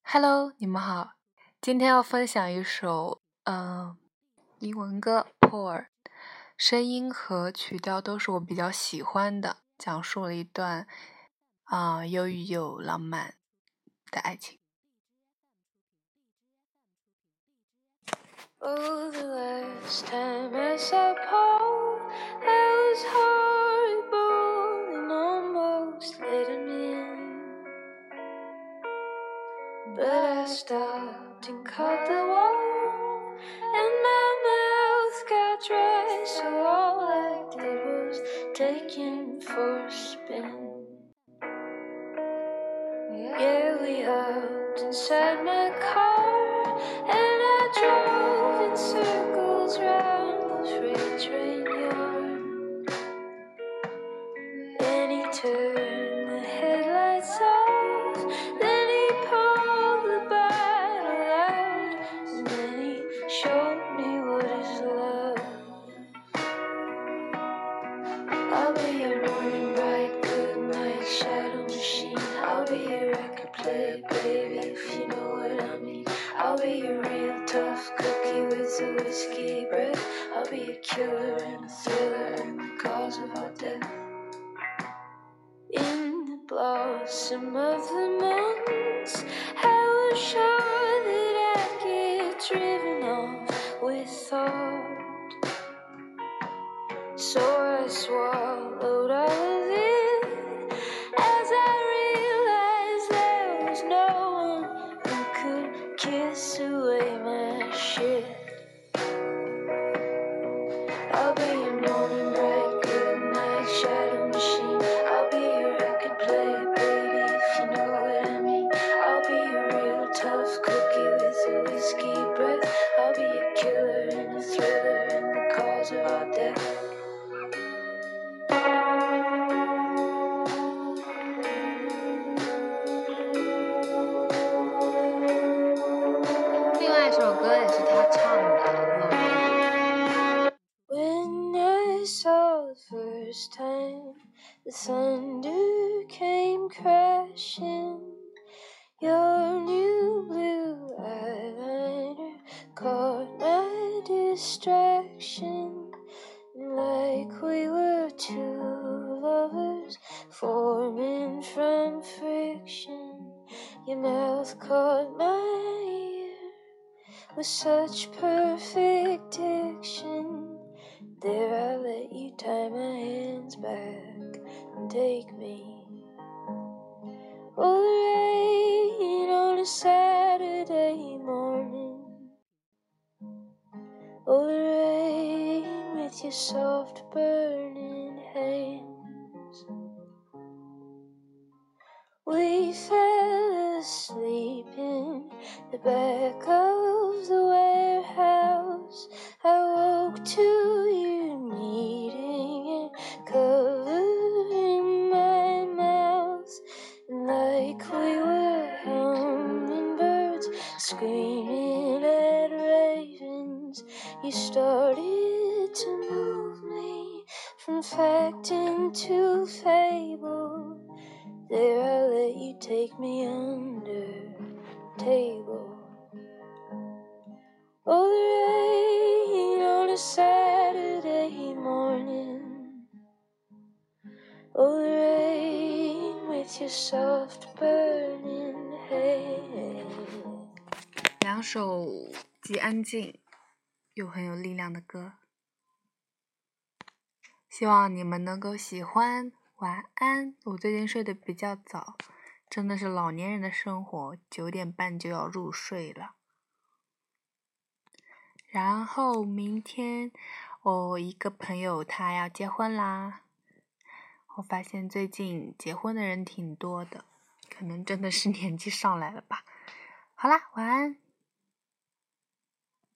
Hello，你们好，今天要分享一首英文歌《Poor》，声音和曲调都是我比较喜欢的，讲述了一段忧郁又浪漫的爱情。 Oh, the last time I saw Paul, I was horrible and almost let him in. But I stopped and caught the wall, and my mouth got dry, so all I did was take him for a spin. Yeah, we hopped inside my car, and I drove in circles round the freight train yard. Then he turned the headlights off, then he pulled the bottle out, and then he showed me what is love. I'll be your morning bright, good night shadow machine. I'll be your record player, baby, if you know what I mean. I'll be your real tough cookie with a whiskey breath. I'll be a killer and a thriller and the cause of our death. In the blossom of the months, I was sure that I'd get driven off with thought. So I swallowed all of it as I realized there was no one who could kiss away my shit. I'll be your morning bright, good night shadow machine. I'll be your record player, baby, if you know what I mean. I'll be your real tough cookie with a whiskey breath. I'll be a killer and a thriller and the cause of our death. 另外一首歌也是他唱的， When I saw the first time the thunder came crashing, your new blue eyeliner caught my distraction. Like we were two lovers forming from friction, your mouth caught my ear with such perfect diction. There I let you tie my hands back and take me. Oh, the rain on a Saturday morning. Oh, the rain with your soft burning hands. We fell asleep in the back of the warehouse. I woke to you kneading and covering my mouth. And like we were hummingbirds screaming at ravens, you started to move me from fact into fable. There I let you take me under the table. Oh, the rain on a Saturday morning. Oh, the rain with your soft burning hand. 两首既安静又很有力量的歌，希望你们能够喜欢。晚安，我最近睡得比较早，真的是老年人的生活，9点半就要入睡了。然后明天我一个朋友他要结婚啦，我发现最近结婚的人挺多的，可能真的是年纪上来了吧。好啦，晚安。